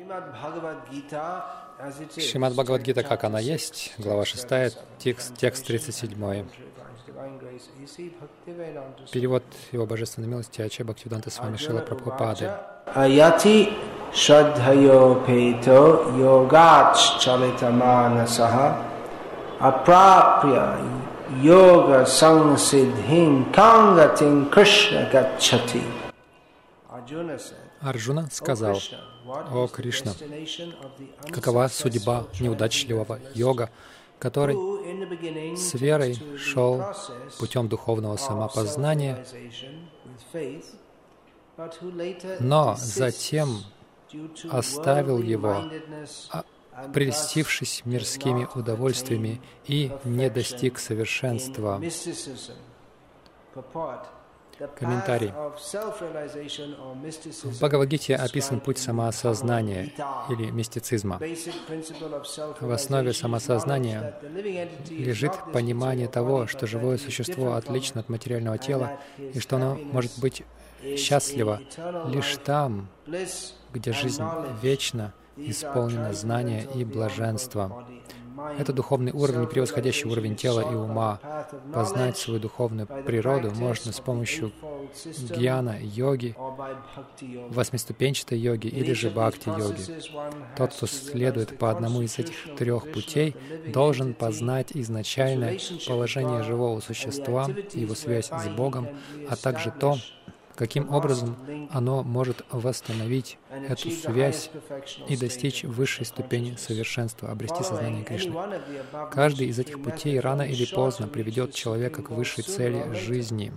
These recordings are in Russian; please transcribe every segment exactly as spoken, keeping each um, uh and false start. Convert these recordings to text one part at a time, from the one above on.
Шримад Бхагавад-гита, как она есть, глава шестая, текст, текст тридцать семь. Перевод Его Божественной милости Ача Бхактивиданта Свами Шрила Прабхупады. Аяти шрадхайопето йогач чалитаманасаха апрапря йога сангсидхим кангатин Кришна гачати. Арджуна сказал: «О Кришна, какова судьба неудачливого йога, который с верой шел путем духовного самопознания, но затем оставил его, прельстившись мирскими удовольствиями, и не достиг совершенства». Комментарий. В Бхагавад-гите описан путь самоосознания или мистицизма. В основе самосознания лежит понимание того, что живое существо отлично от материального тела и что оно может быть счастливо лишь там, где жизнь вечна, исполнена знания и блаженства. Это духовный уровень, превосходящий уровень тела и ума. Познать свою духовную природу можно с помощью гьяна, йоги, восьмиступенчатой йоги или же бхакти-йоги. Тот, кто следует по одному из этих трех путей, должен познать изначальное положение живого существа, его связь с Богом, а также то, каким образом оно может восстановить эту связь и достичь высшей ступени совершенства, обрести сознание Кришны. Каждый из этих путей рано или поздно приведет человека к высшей цели жизни.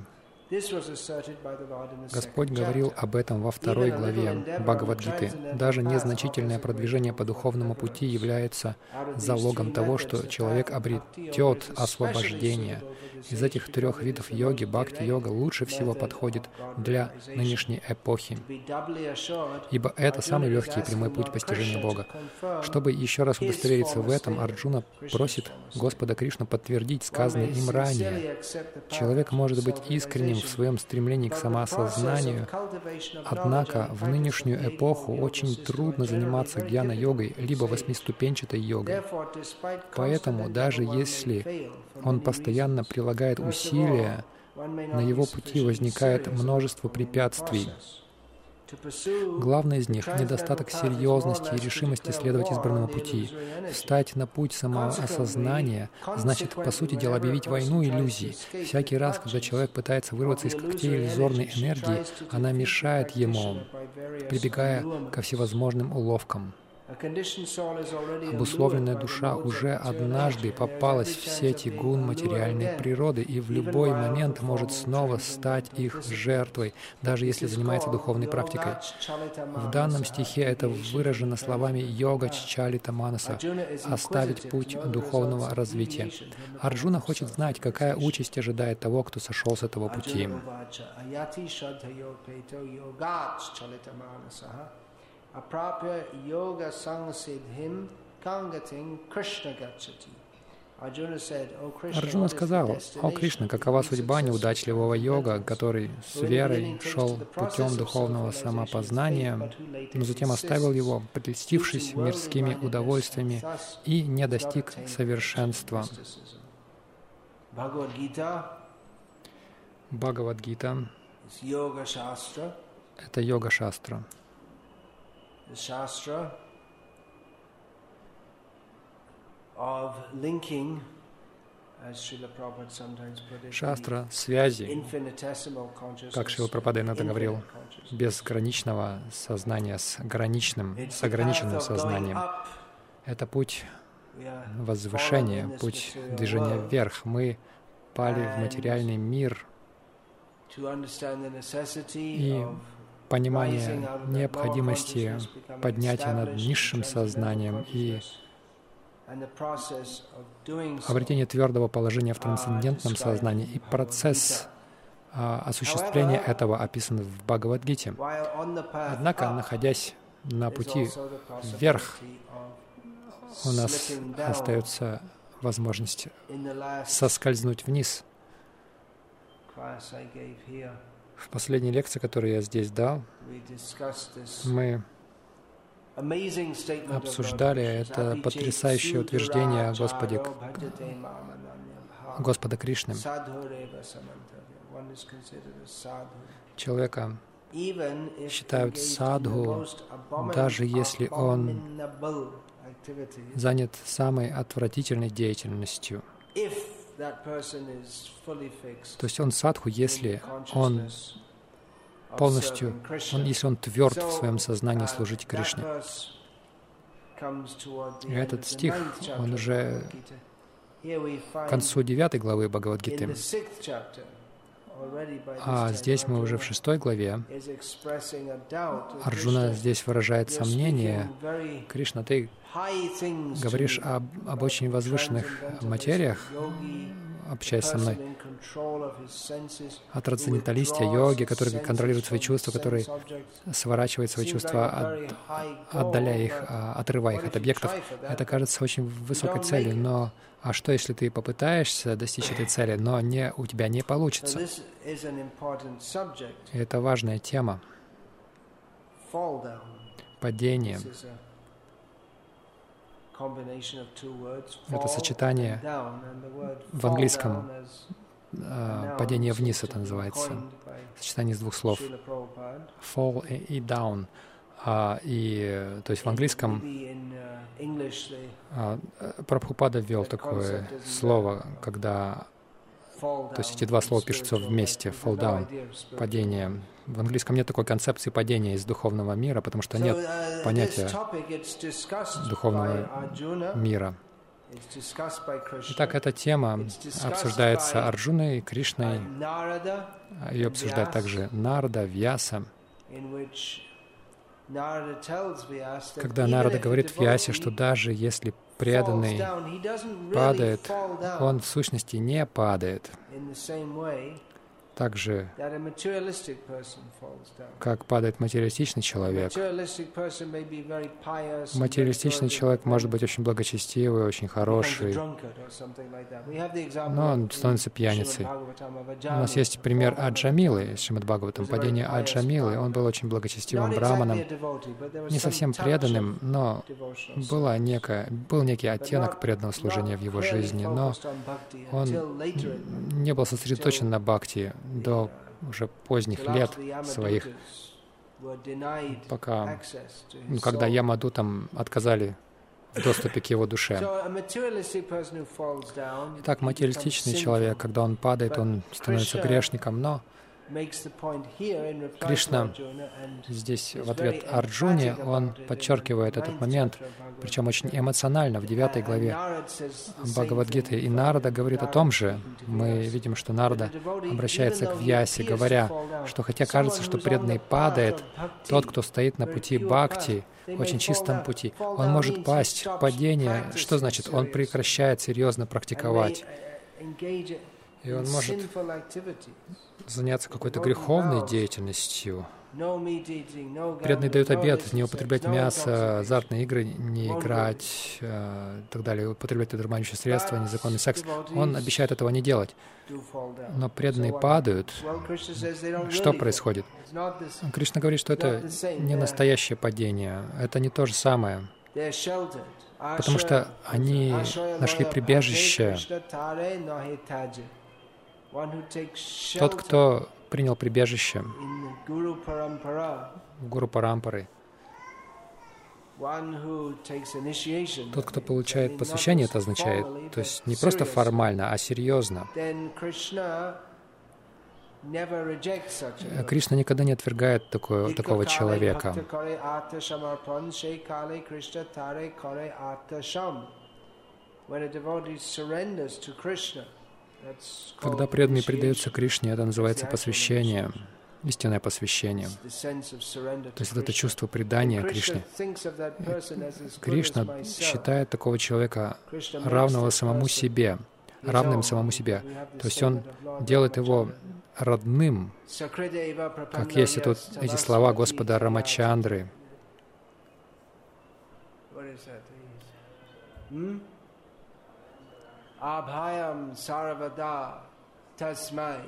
Господь говорил об этом во второй главе Бхагавад-гиты. Даже незначительное продвижение по духовному пути является залогом того, что человек обретет освобождение. Из этих трех видов йоги бхакти-йога лучше всего подходит для нынешней эпохи, ибо это самый легкий и прямой путь постижения Бога. Чтобы еще раз удостовериться в этом, Арджуна просит Господа Кришну подтвердить сказанное им ранее. Человек может быть искренним в своем стремлении к самоосознанию, однако в нынешнюю эпоху очень трудно заниматься гьяна-йогой либо восьмиступенчатой йогой. Поэтому даже если он постоянно прилагает усилия, на его пути возникает множество препятствий. Главное из них — недостаток серьезности и решимости следовать избранному пути. Встать на путь самоосознания значит, по сути дела, объявить войну иллюзий. Всякий раз, когда человек пытается вырваться из когтей иллюзорной энергии, она мешает ему, прибегая ко всевозможным уловкам. Обусловленная душа уже однажды попалась в сети гун материальной природы и в любой момент может снова стать их жертвой, даже если занимается духовной практикой. В данном стихе это выражено словами «йога чалита манаса» — «оставить путь духовного развития». Арджуна хочет знать, какая участь ожидает того, кто сошел с этого пути. Апрапья йога сангсидхим кангатин Кришна гачати. Арджуна сказал: «О Кришна, какова судьба неудачливого йога, который с верой шел путем духовного самопознания, но затем оставил его, прельстившись мирскими удовольствиями, и не достиг совершенства». Бхагавад-гита — это йога-шастра. Шастра связи, как Шрила Прабхупада иногда говорил, безграничного сознания с ограниченным, с ограниченным сознанием. Это путь возвышения, путь движения вверх. Мы пали в материальный мир, и понимание необходимости поднятия над низшим сознанием и обретение твердого положения в трансцендентном сознании и процесс а, осуществления этого описан в Бхагавад-гите. Однако, находясь на пути вверх, у нас остается возможность соскользнуть вниз. В последней лекции, которую я здесь дал, мы обсуждали это потрясающее утверждение о Господе, Господа Кришны. Человека считают садху, даже если он занят самой отвратительной деятельностью. То есть он садху, если он полностью, он, если он тверд в своем сознании служить Кришне. И этот стих, он уже к концу девятой главы Бхагавад-гиты. А здесь мы уже в шестой главе. Арджуна здесь выражает сомнение. Кришна, ты говоришь об, об очень возвышенных материях, общаясь со мной, о трансценденталисте, о йоге, который контролирует свои чувства, который сворачивает свои чувства, от, отдаляя их, отрывая их от объектов. Это кажется очень высокой целью, но а что, если ты попытаешься достичь этой цели, но не, у тебя не получится? И это важная тема. Падение. Это сочетание в английском э, падение вниз, это называется. Сочетание из двух слов. Fall и down. А, и, то есть в английском а, Прабхупада ввел такое слово, когда, то есть эти два слова пишутся вместе, fall down, падение. В английском нет такой концепции падения из духовного мира, потому что нет понятия духовного мира. Итак, эта тема обсуждается Арджуной, Кришной, ее обсуждает также Нарада, Вьяса. Когда Нарада говорит Вьясе, что даже если преданный падает, он в сущности не падает. Так же, как падает материалистичный человек. Материалистичный человек может быть очень благочестивый, очень хороший, но он становится пьяницей. У нас есть пример Аджамилы из Шримад Бхагаватам, падение Аджамилы. Он был очень благочестивым браманом, не совсем преданным, но была некая, был некий оттенок преданного служения в его жизни, но он не был сосредоточен на бхакти до уже поздних лет своих, пока, ну, когда Ямадутам отказали в доступе к его душе. Итак, материалистичный человек, когда он падает, он становится грешником, но Кришна здесь в ответ Арджуне, он подчеркивает этот момент, причем очень эмоционально, в девятой главе Бхагавад-гиты. И Нарада говорит о том же. Мы видим, что Нарада обращается к Вьясе, говоря, что хотя кажется, что преданный падает, тот, кто стоит на пути бхакти, очень чистом пути, он может пасть. Падение, что значит? Он прекращает серьезно практиковать. И он может заняться какой-то греховной деятельностью. Преданный дает обет не употреблять мясо, азартные игры не играть, э, и так далее, употреблять дурманящие средства, незаконный секс. Он обещает этого не делать. Но преданные падают. Что происходит? Кришна говорит, что это не настоящее падение, это не то же самое. Потому что они нашли прибежище. Тот, кто принял прибежище в Гуру Парампары, тот, кто получает посвящение, это означает, то есть не просто формально, а серьезно. Кришна никогда не отвергает такое, такого человека. Когда преданный предается Кришне, это называется посвящение, истинное посвящение. То есть это чувство предания Кришне. Кришна считает такого человека равного самому себе, равным самому себе. То есть он делает его родным, как есть тут эти слова Господа Рамачандры. Абхаям сарвада тасмай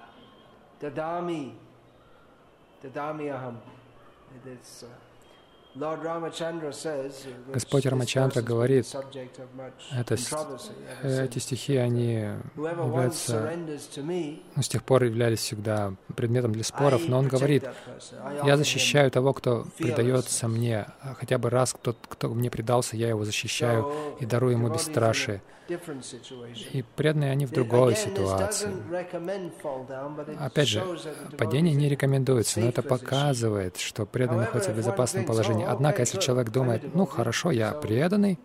дадами дадами ахам. Господь Рамачандра говорит, это, эти стихи, они являются, ну, с тех пор являлись всегда предметом для споров, но он говорит, я защищаю того, кто предается мне, хотя бы раз кто, кто мне предался, я его защищаю и дарую ему бесстрашие. И преданные они в другой ситуации. Опять же, падение не рекомендуется, но это показывает, что преданный находится в безопасном положении. Однако, если человек думает, ну хорошо, я преданный,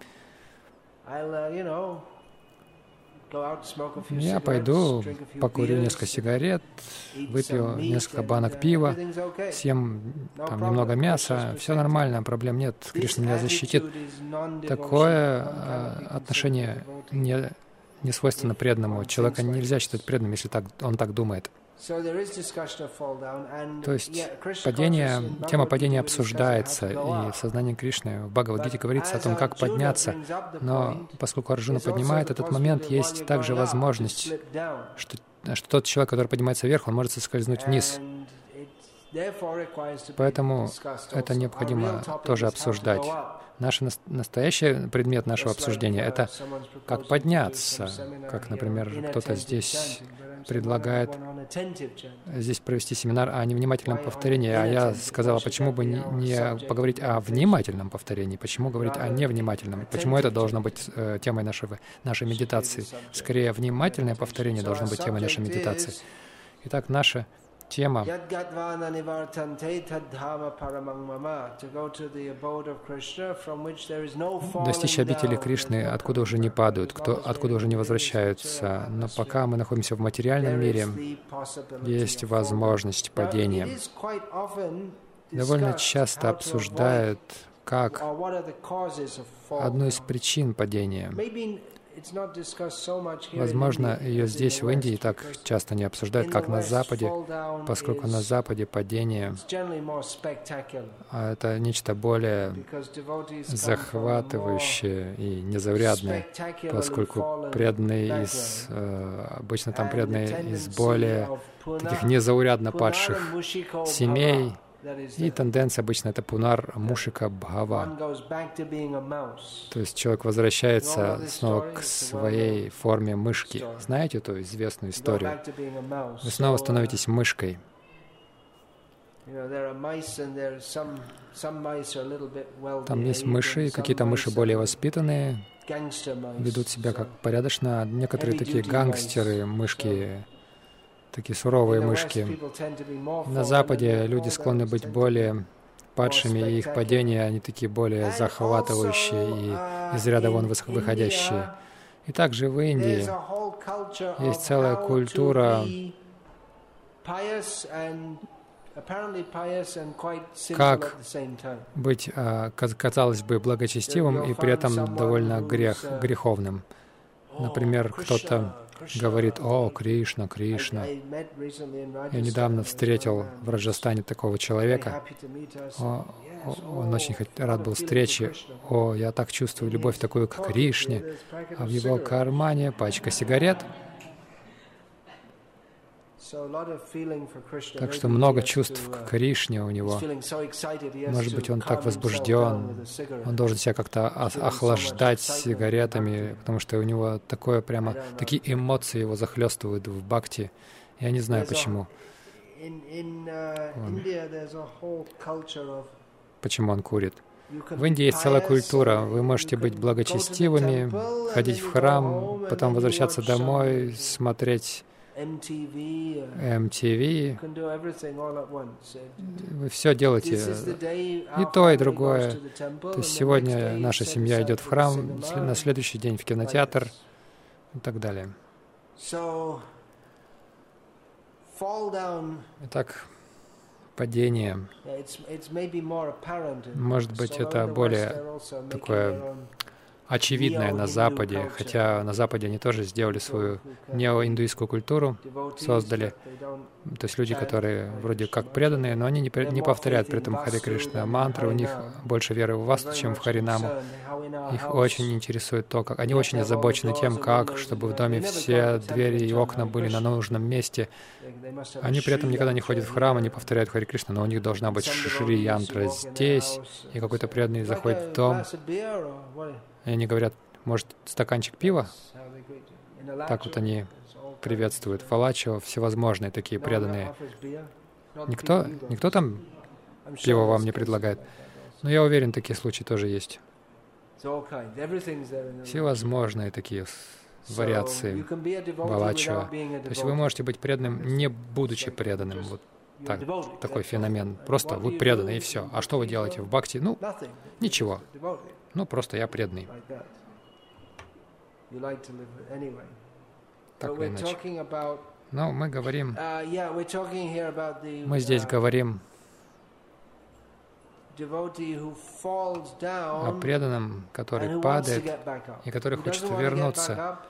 я пойду, покурю несколько сигарет, выпью несколько банок пива, съем там немного мяса, все нормально, проблем нет, Кришна меня защитит. Такое э, отношение не, не свойственно преданному. Человека нельзя считать преданным, если так, он так думает. То есть падение, тема падения обсуждается, и в сознании Кришны в Бхагавад-гите говорится о том, как подняться, но поскольку Арджуна поднимает этот момент, есть также возможность, что, что тот человек, который поднимается вверх, он может соскользнуть вниз. Поэтому это необходимо тоже обсуждать. Наш настоящий предмет нашего обсуждения — это как подняться, как, например, кто-то здесь предлагает здесь провести семинар о невнимательном повторении, а я сказала, почему бы не, не поговорить о внимательном повторении, почему говорить о невнимательном, почему это должно быть э, темой нашего, нашей медитации. Скорее, внимательное повторение должно быть темой нашей медитации. Итак, наша тема достичь обители Кришны, откуда уже не падают, кто, откуда уже не возвращаются. Но пока мы находимся в материальном мире, есть возможность падения. Довольно часто обсуждают, как одну из причин падения. Возможно, ее здесь, в Индии, так часто не обсуждают, как на Западе, поскольку на Западе падение — это нечто более захватывающее и незаурядное, поскольку преданные из, обычно там преданные из более таких незаурядно падших семей, и тенденция обычно — это пунар мушика бхава. То есть человек возвращается снова к своей форме мышки. Знаете эту известную историю? Вы снова становитесь мышкой. Там есть мыши, и какие-то мыши более воспитанные, ведут себя как порядочно. Некоторые такие гангстеры, мышки, такие суровые мышки. На Западе люди склонны быть более падшими, и их падения, они такие более захватывающие и из ряда вон выходящие. И также в Индии есть целая культура, как быть, казалось бы, благочестивым и при этом довольно грех, греховным. Например, кто-то говорит: «О, Кришна, Кришна». Я недавно встретил в Раджастане такого человека. О, он очень рад был встрече. «О, я так чувствую любовь такую к Кришне». А в его кармане пачка сигарет. Так что много чувств к Кришне у него. Может быть, он так возбужден, он должен себя как-то охлаждать сигаретами, потому что у него такое прямо, такие эмоции его захлестывают в бхакти. Я не знаю почему. Он, почему он курит. В Индии есть целая культура. Вы можете быть благочестивыми, ходить в храм, потом возвращаться домой, смотреть эм ти ви, вы все делаете, и то, и другое. То есть сегодня наша семья идет в храм, на следующий день в кинотеатр и так далее. Итак, падение. Может быть, это более такое очевидное на Западе, хотя на Западе они тоже сделали свою неоиндуистскую культуру, создали. То есть люди, которые вроде как преданные, но они не, не повторяют при этом Харе Кришна мантры, у них больше веры в Васту, чем в Харинаму. Их очень интересует то, как... Они очень озабочены тем, как, чтобы в доме все двери и окна были на нужном месте. Они при этом никогда не ходят в храм, не повторяют Харе Кришна, но у них должна быть шри-янтра здесь, и какой-то преданный заходит в дом, и они говорят, может, стаканчик пива? Так вот они приветствуют. Фалачо, всевозможные такие преданные. Никто, никто там пиво вам не предлагает. Но я уверен, такие случаи тоже есть. Всевозможные такие вариации Валачо. То есть вы можете быть преданным, не будучи преданным. Вот так, такой феномен. Просто вы преданы, и все. А что вы делаете в бхакти? Ну, ничего. Ну, просто я преданный. Так или иначе. Но мы говорим, мы здесь говорим о преданном, который падает и который хочет вернуться.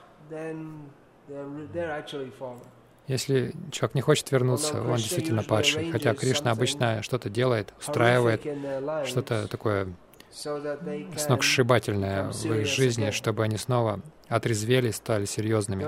Если человек не хочет вернуться, он действительно падший. Хотя Кришна обычно что-то делает, устраивает, что-то такое сногсшибательное в их жизни, чтобы они снова отрезвели, стали серьезными.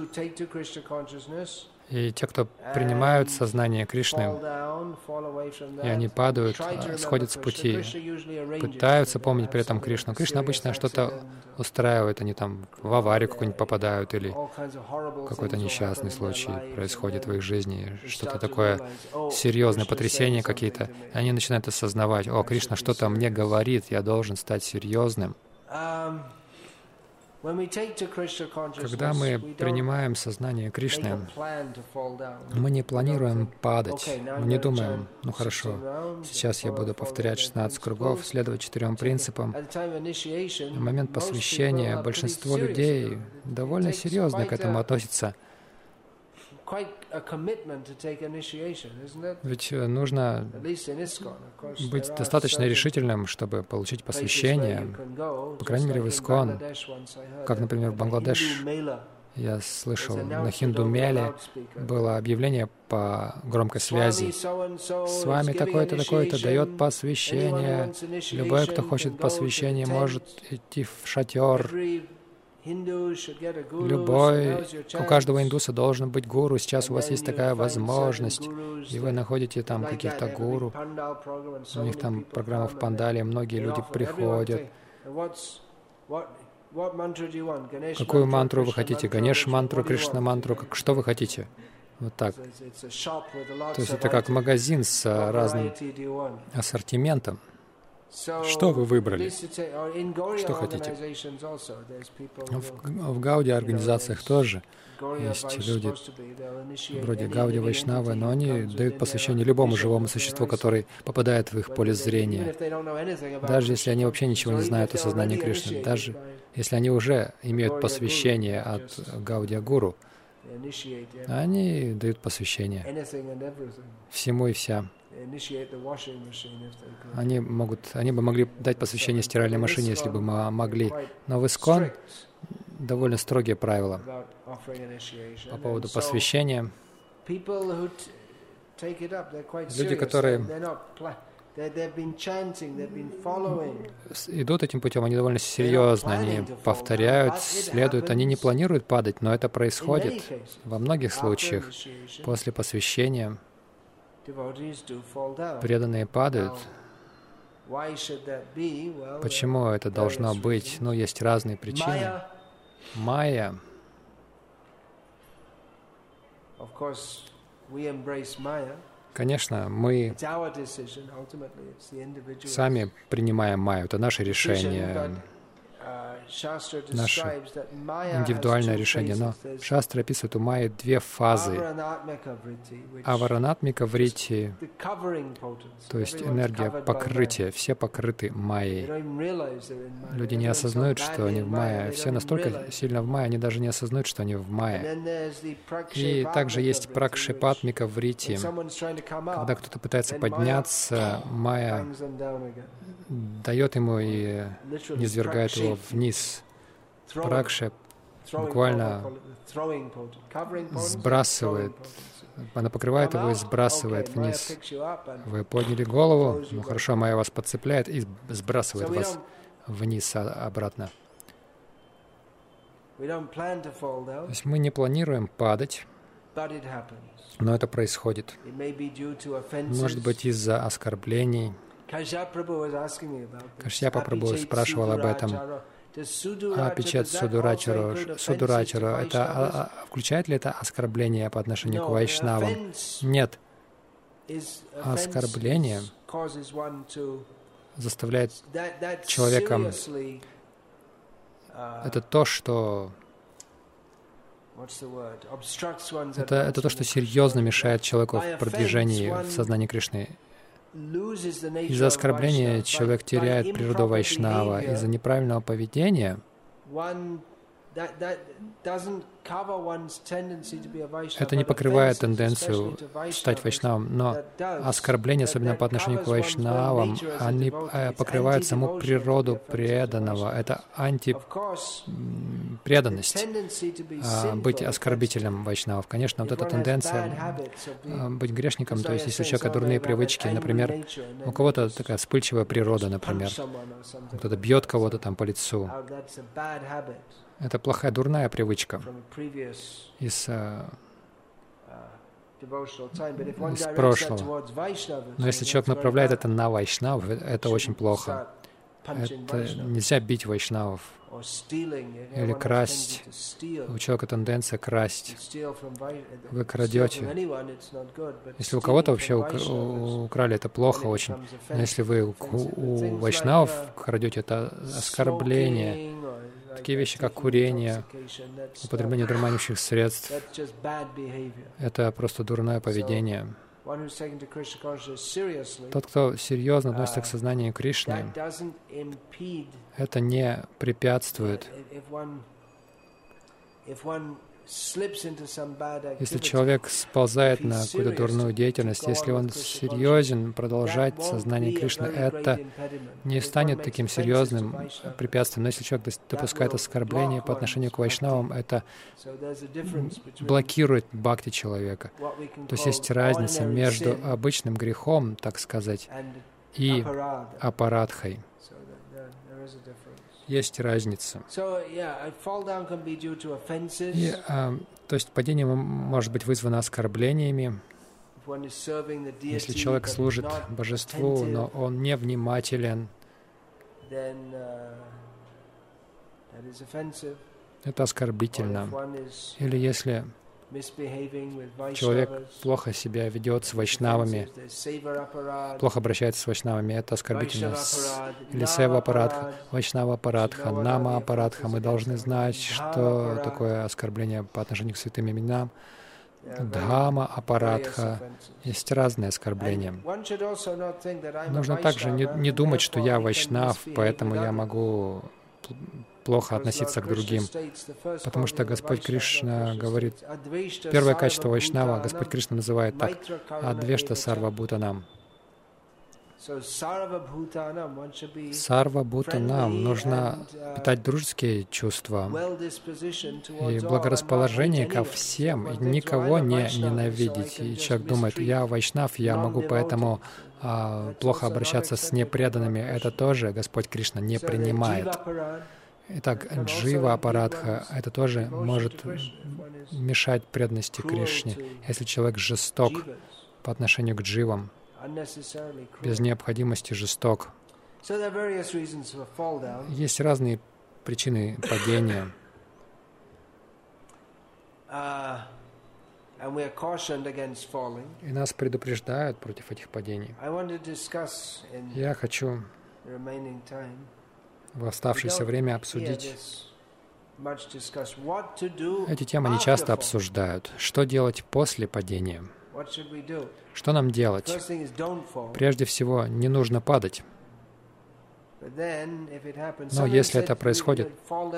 И те, кто принимают сознание Кришны, и они падают, сходят с пути, пытаются помнить при этом Кришну. Кришна обычно что-то устраивает, они там в аварию какую-нибудь попадают, или какой-то несчастный случай происходит в их жизни, что-то такое серьезное, потрясения какие-то. И они начинают осознавать: о, Кришна что-то мне говорит, я должен стать серьезным. Когда мы принимаем сознание Кришны, мы не планируем падать, мы не думаем, ну хорошо, сейчас я буду повторять шестнадцать кругов, следовать четырем принципам. В момент посвящения большинство людей довольно серьезно к этому относятся. Ведь нужно быть достаточно решительным, чтобы получить посвящение. По крайней мере, в ИСККОН, как, например, в Бангладеш, я слышал, на хинду-меле было объявление по громкой связи. С вами такой-то, такой-то дает посвящение. Любой, кто хочет посвящение, может идти в шатер. Любой, у каждого индуса должен быть гуру. Сейчас у вас есть такая возможность, и вы находите там каких-то гуру. У них там программа в Пандале, многие люди приходят. Какую мантру вы хотите? Ганеш-мантру, Кришна-мантру? Что вы хотите? Вот так. То есть это как магазин с разным ассортиментом. Что вы выбрали? Что хотите? В, в Гауди-организациях тоже есть люди вроде Гауди Вайшнавы, но они дают посвящение любому живому существу, который попадает в их поле зрения. Даже если они вообще ничего не знают о сознании Кришны, даже если они уже имеют посвящение от Гаудия-гуру, они дают посвящение всему и вся. Они могут, они бы могли дать посвящение стиральной машине, если бы мы могли. Но в ИСККОН довольно строгие правила по поводу посвящения. Люди, которые идут этим путем, они довольно серьезно, они повторяют, следуют, они не планируют падать, но это происходит во многих случаях. После посвящения преданные падают. Почему это должно быть? Ну, есть разные причины. Майя. Конечно, мы сами принимаем майю. Это наше решение, наше индивидуальное решение. Но Шастра описывает у майи две фазы. Аваранатмика врити, то есть энергия покрытия. Все покрыты майей. Люди не осознают, что они в майе. Все настолько сильно в майе, они даже не осознают, что они в майе. И также есть пракшипатмика врити. Когда кто-то пытается подняться, майя дает ему и низвергает его вниз. Пракша буквально сбрасывает, она покрывает его и сбрасывает вниз. Вы подняли голову, ну хорошо, Майя вас подцепляет и сбрасывает вас вниз обратно. То есть мы не планируем падать, но это происходит. Может быть, из-за оскорблений. Кашьяпа Прабху спрашивал об этом. А Пичет Судурачару, Судурачару, это а, а, включает ли это оскорбление по отношению к вайшнавам? Нет. Оскорбление заставляет человека... Это то, что... Это, это то, что серьезно мешает человеку в продвижении в сознании Кришны. Из-за оскорбления человек теряет природу вайшнава. Из-за неправильного поведения это не покрывает тенденцию стать вайшнавом, но оскорбления, особенно по отношению к вайшнавам, они покрывают саму природу преданного. Это антипреданность, быть оскорбителем вайшнавов. Конечно, вот эта тенденция быть грешником, то есть если у человека дурные привычки, например, у кого-то такая вспыльчивая природа, например, кто-то бьет кого-то там по лицу. Это плохая, дурная привычка из, из прошлого. Но если человек направляет это на вайшнавов, это очень плохо. Это нельзя бить вайшнавов или красть. У человека тенденция красть. Вы крадете. Если у кого-то вообще украли, это плохо очень. Но если вы у, у вайшнавов крадете, это оскорбление. Такие вещи, как курение, употребление дурманящих средств, это просто дурное поведение. Тот, кто серьезно относится к сознанию Кришны, это не препятствует. Если человек сползает на какую-то дурную деятельность, если он серьезен, продолжать сознание Кришны, это не станет таким серьезным препятствием. Но если человек допускает оскорбление по отношению к вайшнавам, это блокирует бхакти человека. То есть есть разница между обычным грехом, так сказать, и апарадхой. Есть разница. И, а, то есть падение может быть вызвано оскорблениями. Если человек служит божеству, но он невнимателен, это оскорбительно. Или если человек плохо себя ведет с вайшнавами, плохо обращается с вайшнавами, это оскорбительно. Или сева апарадха, вайшнава апарадха, нама апарадха. Мы должны знать, что такое оскорбление по отношению к святым именам. Дхама апарадха. Есть разные оскорбления. Нужно также не, не думать, что я вайшнав, поэтому я могу плохо относиться к другим. Потому что Господь Кришна говорит, первое качество вайшнава Господь Кришна называет так: адвешта сарва бхутанам. Сарва бхутанам нужно питать дружеские чувства и благорасположение ко всем, и никого не ненавидеть. И человек думает, я вайшнав, я могу поэтому а, плохо обращаться с непреданными. Это тоже Господь Кришна не принимает. Итак, джива апарадха — это тоже может мешать преданности Кришне, если человек жесток по отношению к дживам, без необходимости жесток. Есть разные причины падения. И нас предупреждают против этих падений. Я хочу в оставшееся время обсудить. Эти темы не часто обсуждают. Что делать после падения? Что нам делать? Прежде всего, не нужно падать. Но если это происходит,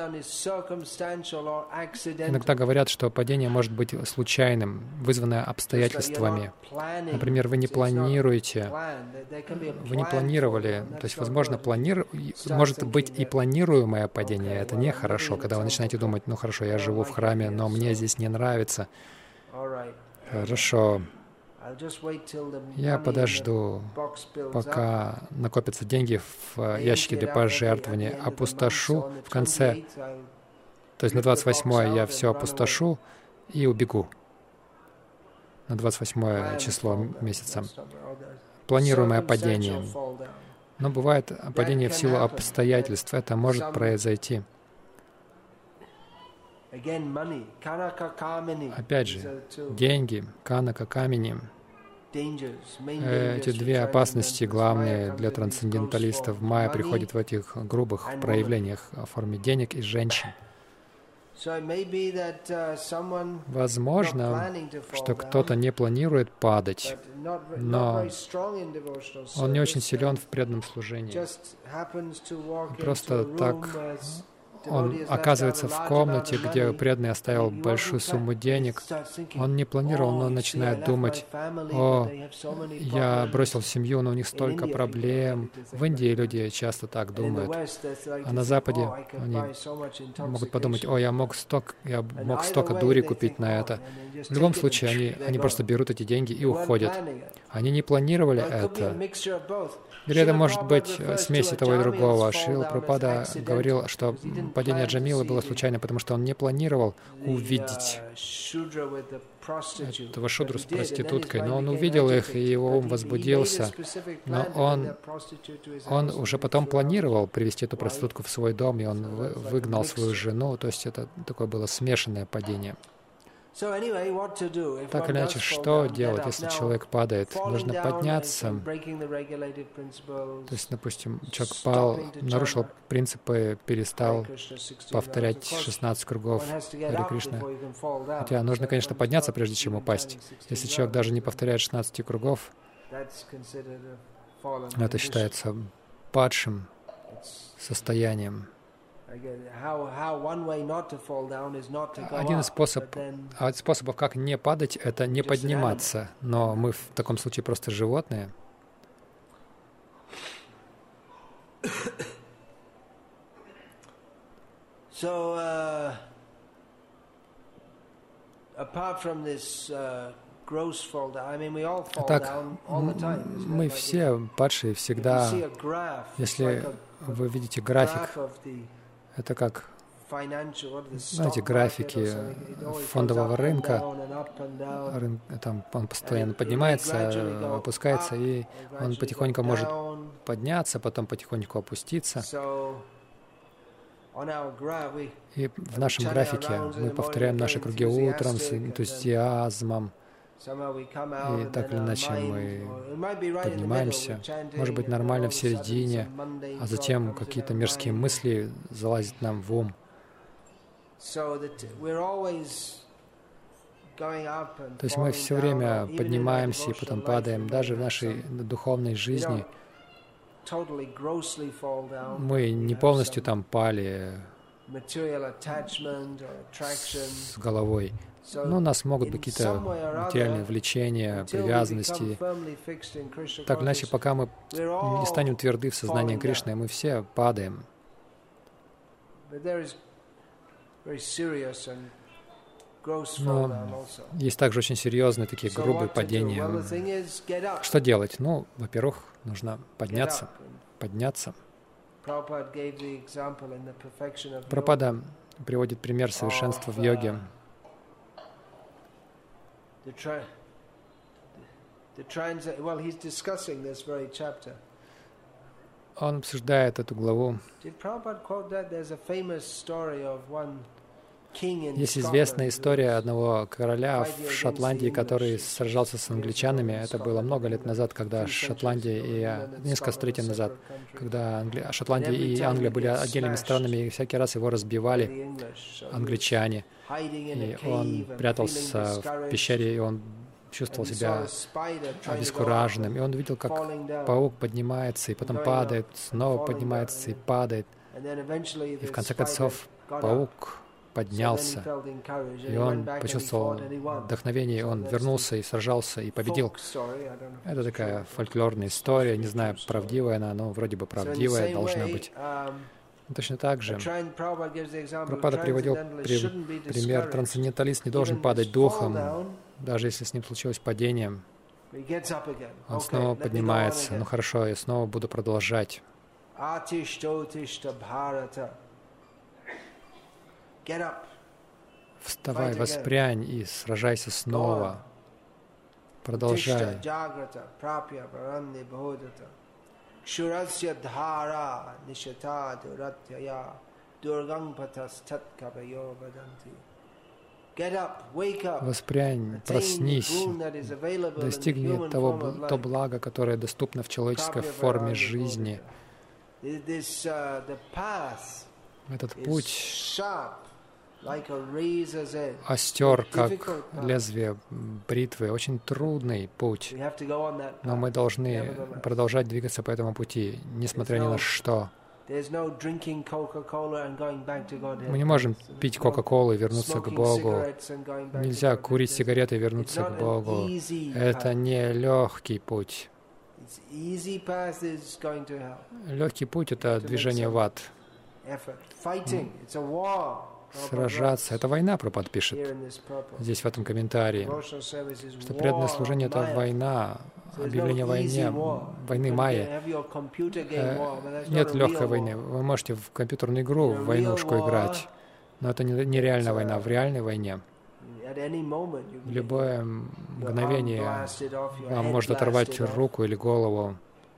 иногда говорят, что падение может быть случайным, вызванное обстоятельствами. Например, вы не планируете, вы не планировали, то есть, возможно, планир... может быть и планируемое падение. Это нехорошо, когда вы начинаете думать, ну хорошо, я живу в храме, но мне здесь не нравится. Хорошо. Я подожду, пока накопятся деньги в ящике для пожертвования, опустошу в конце, то есть на двадцать восьмое я все опустошу и убегу. На двадцать восьмое число месяца. Планируемое падение. Но бывает падение в силу обстоятельств. Это может произойти. Опять же, деньги, канака, камени. Эти две опасности главные для трансценденталистов. Майя приходит в этих грубых проявлениях в форме денег и женщин. Возможно, что кто-то не планирует падать, но он не очень силен в преданном служении. Просто так он оказывается в комнате, где преданный оставил большую сумму денег. Он не планировал, но начинает думать: «О, я бросил семью, но у них столько проблем». В Индии люди часто так думают. А на Западе они могут подумать: «О, я мог столько, я мог столько дури купить на это». В любом случае, они, они просто берут эти деньги и уходят. Они не планировали это. Или это может быть смесь того и другого. Шрила Прабхупада говорил, что падение Джамилы было случайно, потому что он не планировал увидеть этого шудру с проституткой, но он увидел их, и его ум возбудился. Но он, он уже потом планировал привести эту проститутку в свой дом, и он выгнал свою жену. То есть это такое было смешанное падение. Так или иначе, что делать, если человек падает? Нужно подняться. То есть, допустим, человек пал, нарушил принципы, перестал повторять шестнадцать кругов Харе Кришна. Хотя нужно, конечно, подняться, прежде чем упасть. Если человек даже не повторяет шестнадцать кругов, это считается падшим состоянием. Один из способ, способов, как не падать, это не подниматься. Но мы в таком случае просто животные. Итак, мы все падшие всегда. Если вы видите график, это как, знаете, графики фондового рынка. Рын, там он постоянно поднимается, опускается, и он потихоньку может подняться, потом потихоньку опуститься. И в нашем графике мы повторяем наши круги утром с энтузиазмом. И так или иначе мы поднимаемся. Может быть, нормально в середине, а затем какие-то мирские мысли залазят нам в ум. То есть мы все время поднимаемся и потом падаем. Даже в нашей духовной жизни мы не полностью там пали с головой. Но у нас могут быть какие-то материальные влечения, привязанности. Так или иначе, пока мы не станем тверды в сознании Кришны, мы все падаем. Но есть также очень серьезные такие грубые падения. Что делать? Ну, во-первых, нужно подняться, подняться. Прабхупада приводит пример совершенства в йоге. Он обсуждает эту главу. Есть известная история одного короля в Шотландии, который сражался с англичанами. Это было много лет назад, когда Шотландия и несколько столетий назад, когда Англи... Шотландия и Англия были отдельными странами, и всякий раз его разбивали англичане. И он прятался в пещере, и он чувствовал себя обескураженным. И он видел, как паук поднимается и потом падает, снова поднимается и падает. И в конце концов паук поднялся, и он почувствовал вдохновение, он вернулся и сражался, и победил. Это такая фольклорная история, не знаю, правдивая она, но вроде бы правдивая должна быть. Точно так же Прабхупада приводил при, пример, трансценденталист не должен падать духом, даже если с ним случилось падение. Он снова поднимается. Ну хорошо, я снова буду продолжать. Вставай, воспрянь и сражайся снова. Продолжай. Воспрянь, проснись, достигни того, то благо, которое доступно в человеческой форме жизни. Этот путь остер, как лезвие бритвы, очень трудный путь, но мы должны продолжать двигаться по этому пути, несмотря ни на что. Мы не можем пить Кока-Колу и вернуться к Богу. Нельзя курить сигареты и вернуться к Богу. Это не легкий путь. Легкий путь — это движение в ад. Сражаться — это война, Прабхупада пишет здесь, в этом комментарии, что преданное служение — это война, объявление войне, войны майя. Нет легкой войны. Вы можете в компьютерную игру в войнушку играть, но это не реальная война. В реальной войне в любое мгновение вам может оторвать руку или голову.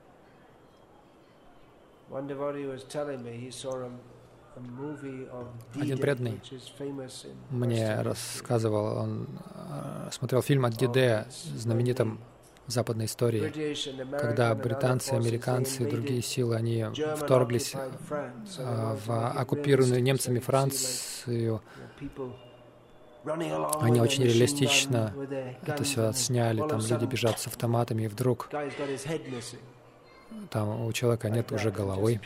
Один преданный мне рассказывал, он смотрел фильм о Ди-Дэ, знаменитом в западной истории, когда британцы, американцы и другие силы, они вторглись в оккупированную немцами Францию. Они очень реалистично это все сняли, там люди бежат с автоматами, и вдруг там у человека нет уже головы.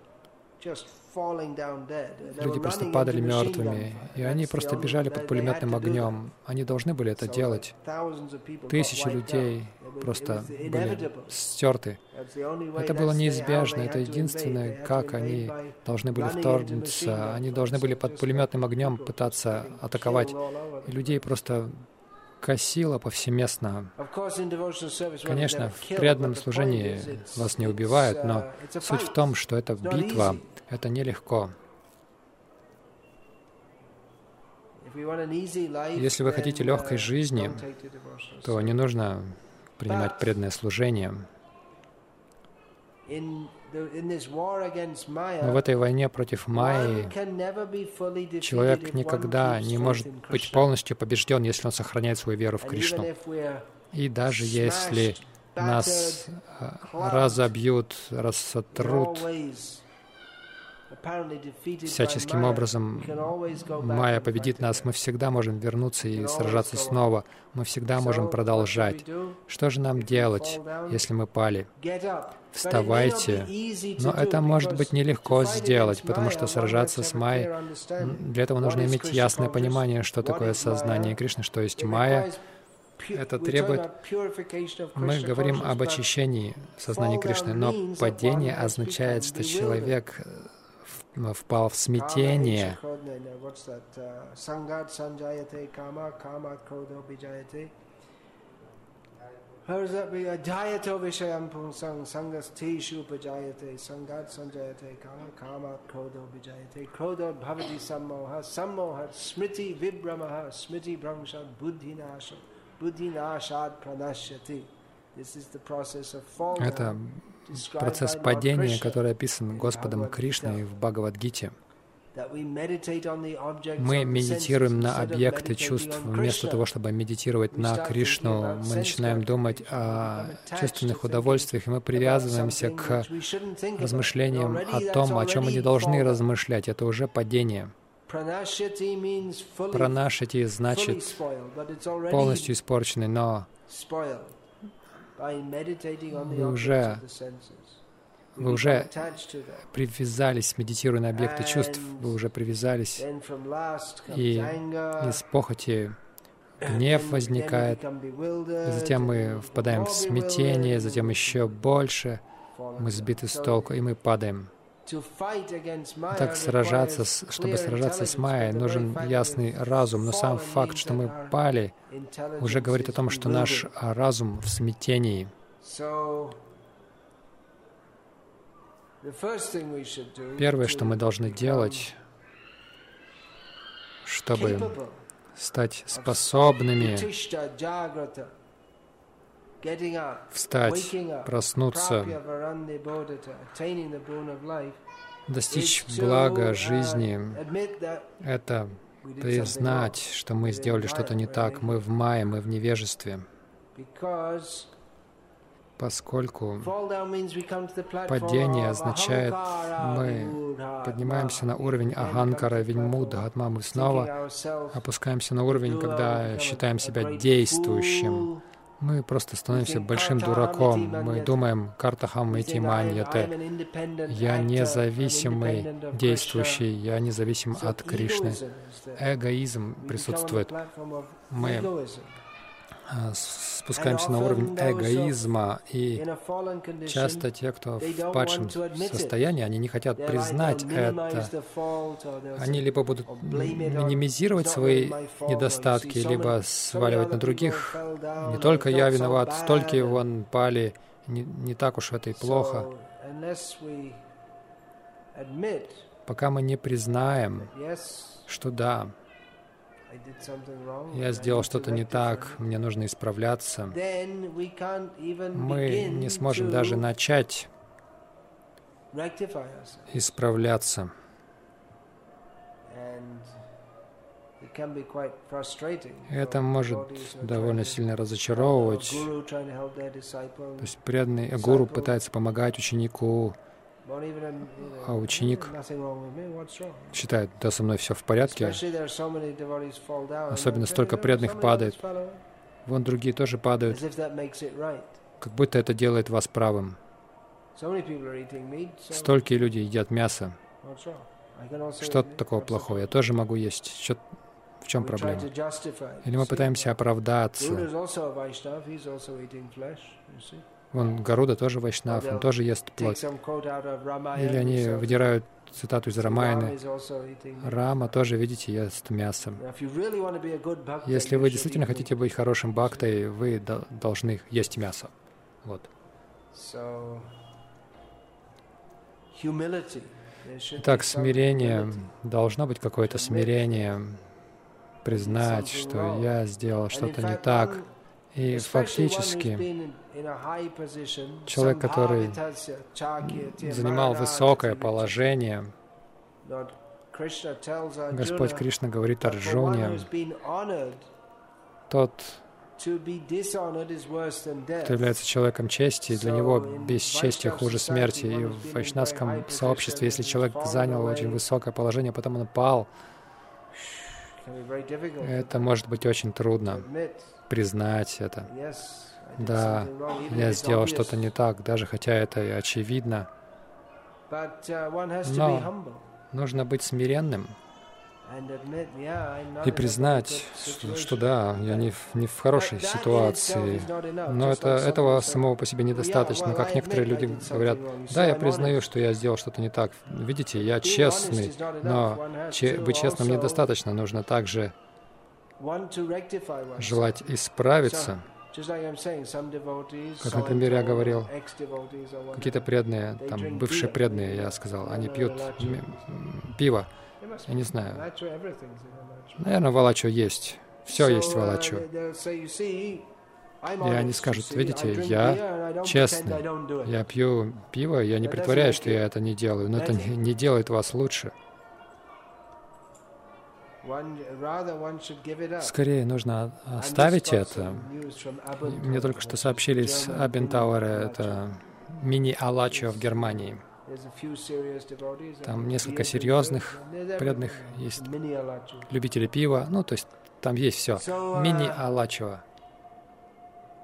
Люди просто падали мертвыми, и они просто бежали под пулеметным огнем. Они должны были это делать. Тысячи людей просто были стерты. Это было неизбежно. Это единственное, как они должны были вторгнуться. Они должны были под пулеметным огнем пытаться атаковать. И людей просто косило повсеместно. Конечно, в преданном служении вас не убивают, но суть в том, что это битва. Это нелегко. Если вы хотите легкой жизни, то не нужно принимать преданное служение. Но в этой войне против майи человек никогда не может быть полностью побежден, если он сохраняет свою веру в Кришну. И даже если нас разобьют, рассотрут, всяческим образом майя победит нас, мы всегда можем вернуться и сражаться снова. Мы всегда можем продолжать. Что же нам делать, если мы пали? Вставайте. Но это может быть нелегко сделать, потому что сражаться с майей, для этого нужно иметь ясное понимание, что такое сознание Кришны, что есть майя. Это требует... Мы говорим об очищении сознания Кришны, но падение означает, что человек впал в смятение. Это процесс падения, который описан Господом Кришной в Бхагавад-гите. Мы медитируем на объекты чувств вместо того, чтобы медитировать на Кришну. Мы начинаем думать о чувственных удовольствиях, и мы привязываемся к размышлениям о том, о чем мы не должны размышлять. Это уже падение. Пранашати значит полностью испорченный, но вы уже, вы уже привязались, медитируя на объекты чувств, вы уже привязались, и из похоти гнев возникает, и затем мы впадаем в смятение, затем еще больше мы сбиты с толку, и мы падаем. Так сражаться, чтобы сражаться с Майей, нужен ясный разум, но сам факт, что мы пали, уже говорит о том, что наш разум в смятении. Первое, что мы должны делать, чтобы стать способными встать, проснуться, достичь блага жизни, это признать, что мы сделали что-то не так, мы в майе, мы в невежестве, поскольку падение означает, мы поднимаемся на уровень Аханкара, Виньмуда, Атма, мы снова опускаемся на уровень, когда считаем себя действующим. Мы просто становимся большим дураком. Мы думаем, картахам ити маньяте. Я независимый действующий, я независим от Кришны. Эгоизм присутствует. Мы спускаемся на уровень эгоизма, и часто те, кто в падшем состоянии, они не хотят признать это. Они либо будут минимизировать свои недостатки, либо сваливать на других. Не только я виноват, столько вон пали, не, не так уж это и плохо. Пока мы не признаем, что да, я сделал что-то не так, мне нужно исправляться, мы не сможем даже начать исправляться. Это может довольно сильно разочаровывать. То есть преданный гуру пытается помогать ученику, а ученик считает, да, со мной все в порядке. Особенно столько преданных падает. Вон другие тоже падают. Как будто это делает вас правым. Столько люди едят мясо. Что такого плохого? Я тоже могу есть. Что, в чем проблема? Или мы пытаемся оправдаться. Вон Гаруда тоже вайшнав, он тоже ест плоть. Или они выдирают цитату из Рамаяны. Рама тоже, видите, ест мясо. Если вы действительно хотите быть хорошим бхактой, вы должны есть мясо. Вот. Итак, смирение. Должно быть какое-то смирение. Признать, что я сделал что-то не так. И фактически человек, который занимал высокое положение, Господь Кришна говорит Арджуне, тот, кто является человеком чести, для него бесчестие хуже смерти. И в вайшнавском сообществе, если человек занял очень высокое положение, потом он пал, это может быть очень трудно признать это. Да, я сделал что-то не так, даже хотя это и очевидно. Но нужно быть смиренным и признать, что, что да, я не в, не в хорошей ситуации. Но это, этого самого по себе недостаточно. Как некоторые люди говорят, да, я признаю, что я сделал что-то не так. Видите, я честный, но че, быть честным недостаточно. Нужно также желать исправиться. Как, например, я говорил, какие-то преданные, там, бывшие преданные, я сказал, они пьют пиво. Я не знаю. Наверное, валачо есть. Все есть валачо. И они скажут, видите, я честный, я пью пиво, я не притворяюсь, что я это не делаю, но это не, не делает вас лучше. Скорее нужно оставить это. Мне только что сообщили из Абентауэра, это мини-алачо в Германии. Там несколько серьезных преданных, есть любители пива, ну, то есть там есть все. Мини-алачо.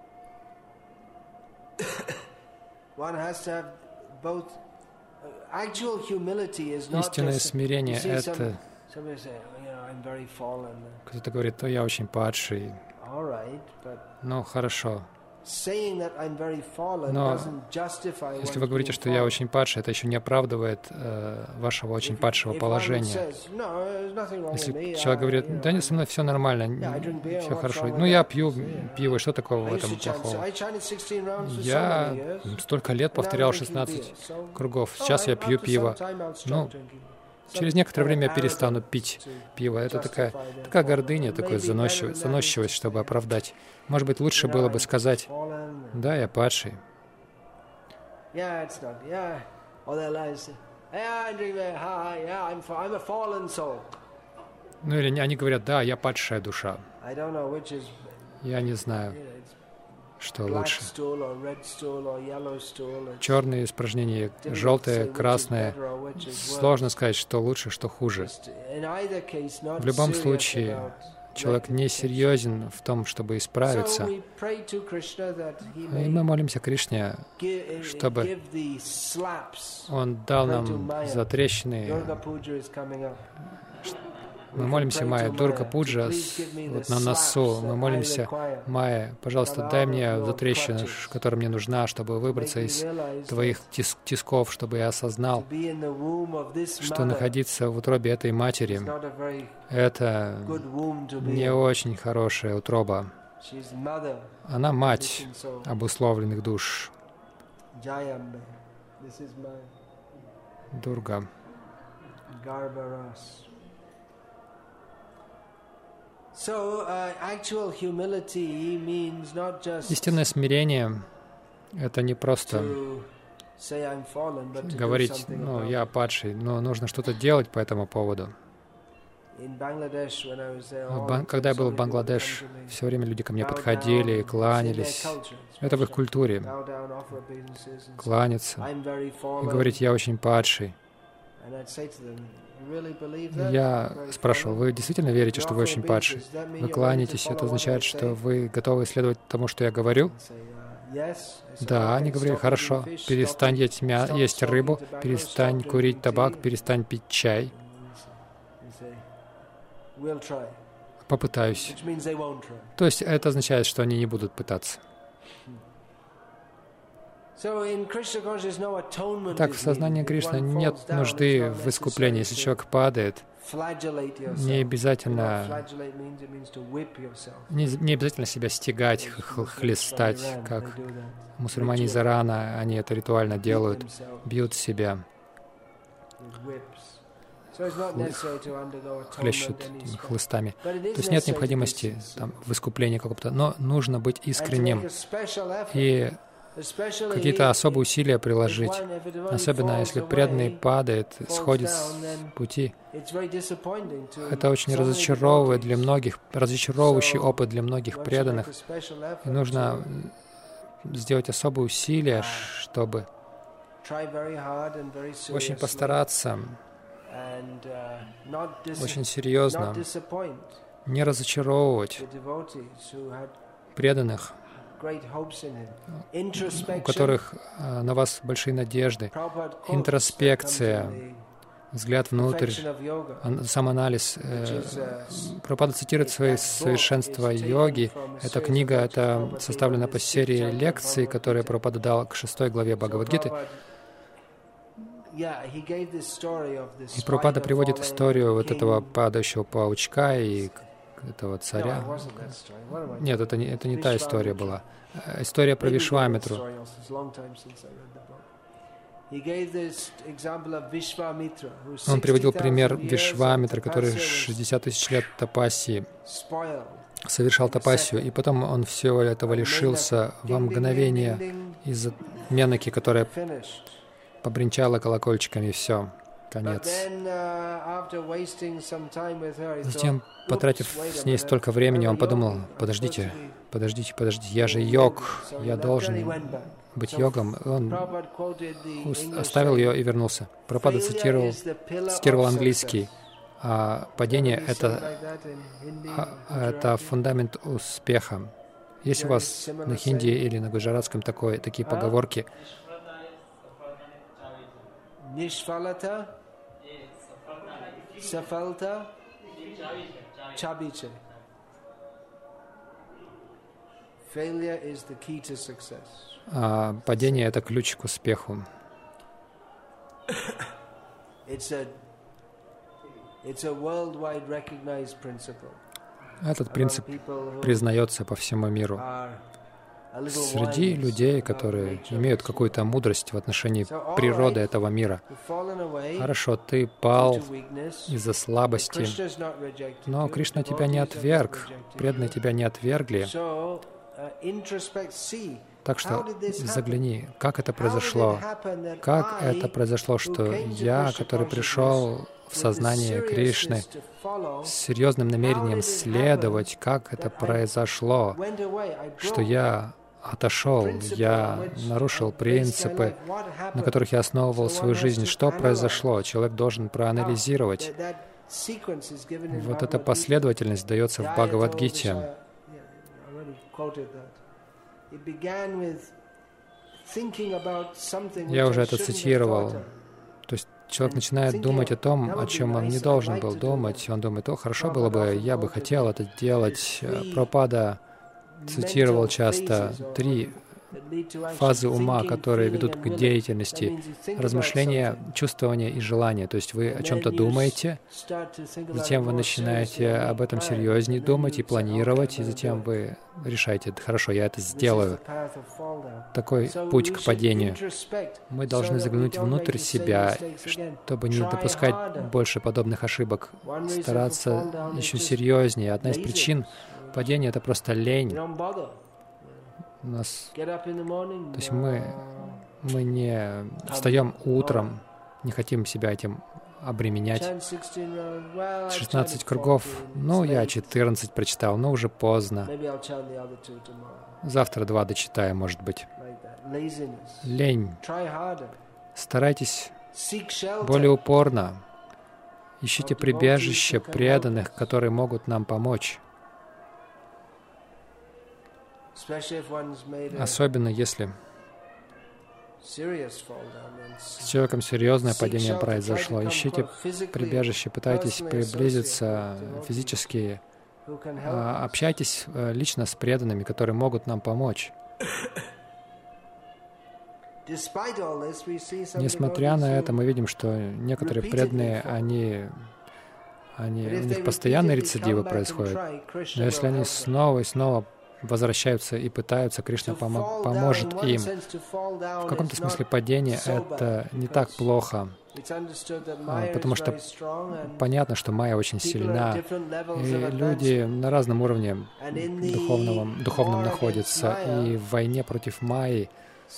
Истинное смирение — это... Кто-то говорит, я очень падший. Ну, хорошо. Но если вы говорите, что я очень падший, это еще не оправдывает э, вашего очень падшего положения. Если человек говорит, да нет, со мной все нормально, все хорошо. Ну, я пью пиво, что такого в этом плохого? Я столько лет повторял шестнадцать кругов. Сейчас я пью пиво. Ну, через некоторое время я перестану пить пиво. Это такая, такая гордыня, такая заносчивость, заносчивость, чтобы оправдать. Может быть, лучше было бы сказать, да, я падший. Ну или они говорят, да, я падшая душа. Я не знаю, что лучше. Черные испражнения, желтое, красное. Сложно сказать, что лучше, что хуже. В любом случае, человек не серьезен в том, чтобы исправиться. И мы молимся Кришне, чтобы Он дал нам затрещины. Мы молимся Майя, Дурга Пуджа вот на носу. Мы молимся Майя, пожалуйста, дай мне затрещину, которая мне нужна, чтобы выбраться из твоих тис тисков, чтобы я осознал, что находиться в утробе этой матери — это не очень хорошая утроба. Она мать обусловленных душ. Дурга. Истинное смирение — это не просто говорить, ну, я падший, но нужно что-то делать по этому поводу. Когда я был в Бангладеш, все время люди ко мне подходили, кланялись. Это в их культуре. Кланяться и говорить, я очень падший. Я спрашивал, вы действительно верите, что вы очень падший? Вы кланяетесь, это означает, что вы готовы следовать тому, что я говорю? Да, они говорили, хорошо, перестань есть, мя есть рыбу, перестань курить табак, перестань пить чай. Попытаюсь. То есть это означает, что они не будут пытаться. Так, в сознании Кришны нет нужды в искуплении. Если человек падает, не обязательно, не, не обязательно себя стегать, хлестать, как мусульмане из Ирана, они это ритуально делают, бьют себя, хлещут хлыстами. То есть нет необходимости там, в искуплении какого-то, но нужно быть искренним и какие-то особые усилия приложить, особенно если преданный падает, сходит с пути. Это очень разочаровывает для многих, разочаровывающий опыт для многих преданных. И нужно сделать особые усилия, чтобы очень постараться, очень серьезно не разочаровывать преданных, у которых а, на вас большие надежды. Интроспекция, взгляд внутрь, самоанализ. Прабхупада цитирует свои совершенства йоги. Эта книга, это составлена по серии лекций, которые Прабхупада дал к шестой главе Бхагавад-гиты. И Прабхупада приводит историю вот этого падающего паучка и этого царя. Нет, это не, это не та история была. История про Вишвамитру. Он приводил пример Вишвамитра, который шестьдесят тысяч лет тапассии совершал тапассию, и потом он всего этого лишился во мгновение из-за Менаки, которая побренчала колокольчиками, и все. Конец. Затем, потратив с ней столько времени, он подумал, подождите, подождите, подождите, я же йог, я должен быть йогом. Он оставил ее и вернулся. Прабхупада цитировал, цитировал английский. А падение — это, это фундамент успеха. Есть у вас на хинди или на гуджаратском такое, такие поговорки, Nishfalata, Safalta, Chabiche. Failure is the key to success. А падение — это ключ к успеху. It's a, it's a worldwide recognized principle. Этот принцип признается по всему миру. Среди людей, которые имеют какую-то мудрость в отношении природы этого мира. Хорошо, ты пал из-за слабости, но Кришна тебя не отверг, преданные тебя не отвергли. Так что загляни, как это произошло, как это произошло, что я, который пришел в сознание Кришны с серьезным намерением следовать, как это произошло, что я отошел, я нарушил принципы, на которых я основывал свою жизнь. Что произошло? Человек должен проанализировать. Вот эта последовательность дается в Бхагавад-гите. Я уже это цитировал. То есть человек начинает думать о том, о чем он не должен был думать. Он думает: о, хорошо было бы, я бы хотел это делать. Прабхупада цитировал часто три фазы ума, которые ведут к деятельности: размышления, чувствование и желание. То есть вы о чем-то думаете, затем вы начинаете об этом серьезнее думать и планировать, и затем вы решаете: хорошо, я это сделаю. Такой путь к падению. Мы должны заглянуть внутрь себя, чтобы не допускать больше подобных ошибок, стараться еще серьезнее. Одна из причин падения — это просто лень. У нас, то есть мы, мы не встаем утром, не хотим себя этим обременять. шестнадцать кругов, ну, я четырнадцать прочитал, но уже поздно. Завтра два дочитаю, может быть. Лень. Старайтесь более упорно. Ищите прибежище преданных, которые могут нам помочь. Особенно если с человеком серьезное падение произошло. Ищите прибежище, пытайтесь приблизиться физически, общайтесь лично с преданными, которые могут нам помочь. Несмотря на это, мы видим, что некоторые преданные, они, они, у них постоянные рецидивы происходят. Но если они снова и снова возвращаются и пытаются, Кришна помо- поможет им. В каком-то смысле падение — это не так плохо, потому что понятно, что майя очень сильна, и люди на разном уровне духовном, духовном находятся, и в войне против майи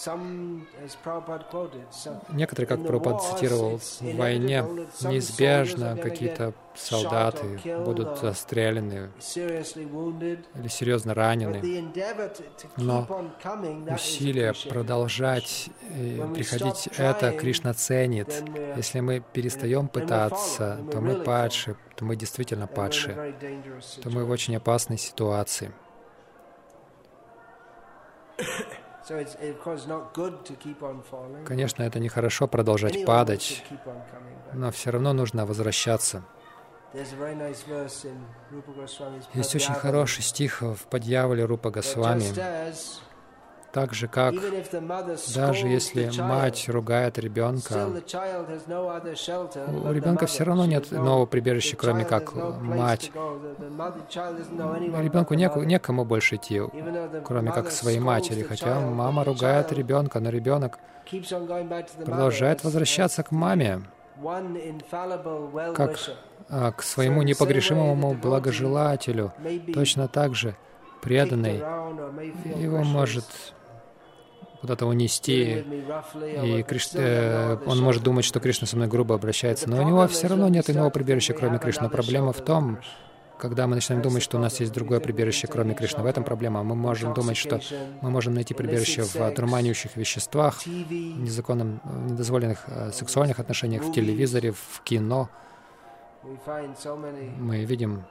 некоторые, как Прабхупада цитировал, в войне неизбежно какие-то солдаты будут застрелены или серьезно ранены. Но усилие продолжать приходить, это Кришна ценит. Если мы перестаем пытаться, то мы падшие, то мы действительно падшие, то мы в очень опасной ситуации. Конечно, это нехорошо продолжать падать, но все равно нужно возвращаться. Есть очень хороший стих в Падьявале Рупа Госвами. Так же, как даже если мать ругает ребенка, у ребенка все равно нет иного прибежища, кроме как мать. Ребенку неку, некому больше идти, кроме как к своей матери. Хотя мама ругает ребенка, но ребенок продолжает возвращаться к маме, как а, к своему непогрешимому благожелателю. Точно так же преданный его может куда-то унести, и Криш... э, он может думать, что Кришна со мной грубо обращается, но у него все равно нет иного прибежища, кроме Кришны. Проблема в том, когда мы начинаем думать, что у нас есть другое прибежище, кроме Кришны. В этом проблема. Мы можем думать, что мы можем найти прибежище в дурманящих веществах, незаконном, недозволенных э, сексуальных отношениях, в телевизоре, в кино. Мы видим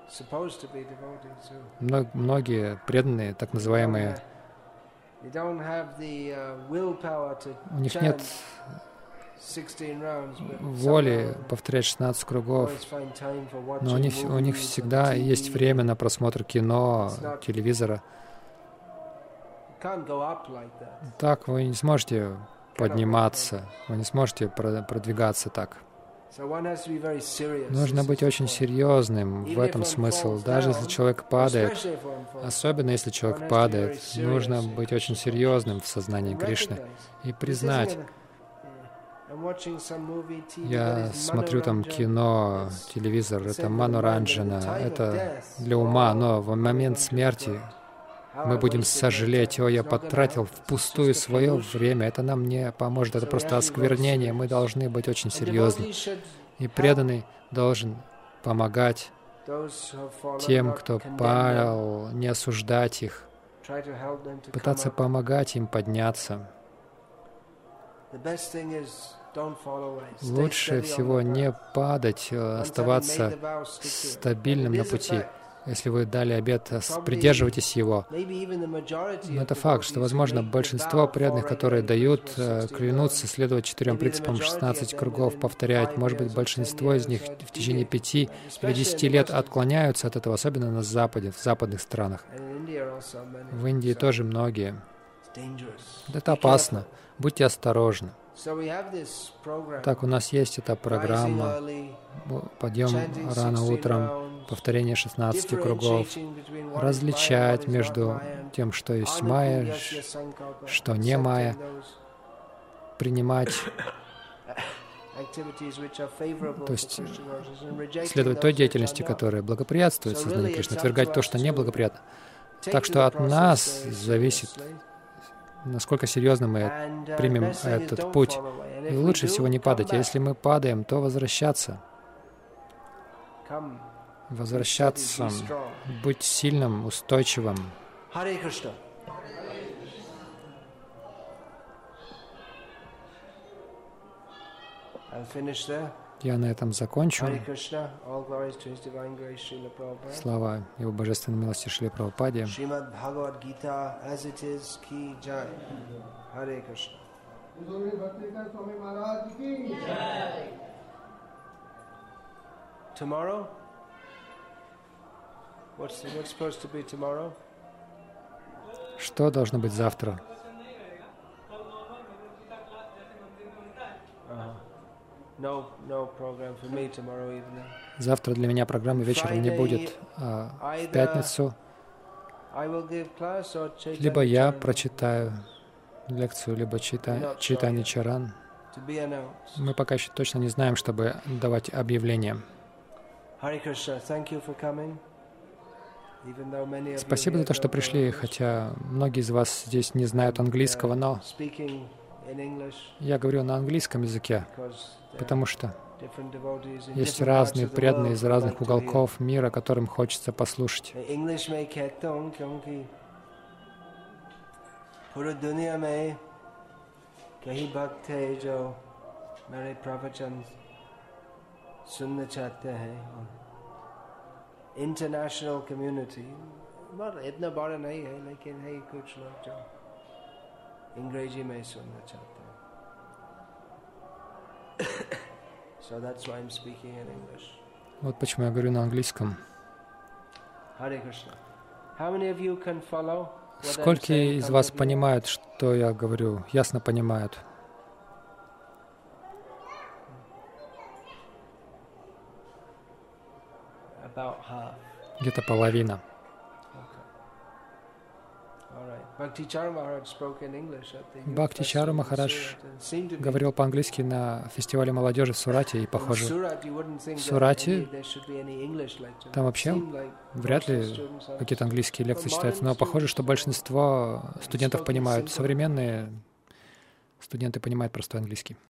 многие преданные, так называемые, у них нет воли повторять шестнадцать кругов, но у них, у них всегда есть время на просмотр кино, телевизора. Так вы не сможете подниматься, вы не сможете продвигаться так. Нужно быть очень серьезным, в этом смысл. Даже если человек падает, особенно если человек падает, нужно быть очень серьезным в сознании Кришны и признать. Я смотрю там кино, телевизор, это маноранджана, это для ума, но в момент смерти мы будем сожалеть: о, я потратил впустую свое время, это нам не поможет, это просто осквернение. Мы должны быть очень серьезны. И преданный должен помогать тем, кто пал, не осуждать их, пытаться помогать им подняться. Лучше всего не падать, оставаться стабильным на пути. Если вы дали обет, придерживайтесь его. Но это факт, что, возможно, большинство преданных, которые дают, клянутся следовать четырем принципам, шестнадцать кругов повторять. Может быть, большинство из них в течение пяти или десяти лет отклоняются от этого, особенно на Западе, в западных странах. В Индии тоже многие. Это опасно. Будьте осторожны. Так, у нас есть эта программа. Подъем рано утром, повторение шестнадцати кругов, различать между тем, что есть майя, что не майя, принимать, то есть следовать той деятельности, которая благоприятствует сознанию Кришны, отвергать то, что неблагоприятно. Так что от нас зависит, насколько серьезно мы примем этот путь. И лучше всего не падать. А если мы падаем, то возвращаться. Возвращаться, быть сильным, устойчивым. Я на этом закончу. Слава Его Божественной милости Шриле Прабхупаде. Tomorrow? What's, what's supposed to be tomorrow? Что должно быть завтра? Uh-huh. No, no program for me tomorrow evening. Завтра для меня программы вечером не будет. А в пятницу либо я прочитаю лекцию, либо чита, читание чаран. Мы пока еще точно не знаем, чтобы давать объявления. Спасибо за то, что пришли, хотя многие из вас здесь не знают английского, но я говорю на английском языке, потому что есть разные преданные из разных уголков мира, которым хочется послушать. International community, इतना बड़ा नहीं है, लेकिन है कुछ लोग जो अंग्रेजी में सुनना चाहते हैं. So that's why I'm speaking in English. Вот почему я говорю на английском. Hare Krishna. How many of you can follow? Сколько из вас понимают, что я говорю? Ясно понимают? Где-то половина. Бхактичару Махарадж говорил по-английски на фестивале молодежи в Сурате, и, похоже, в Сурате там вообще вряд ли какие-то английские лекции читаются, но похоже, что большинство студентов понимают, современные студенты понимают простой английский.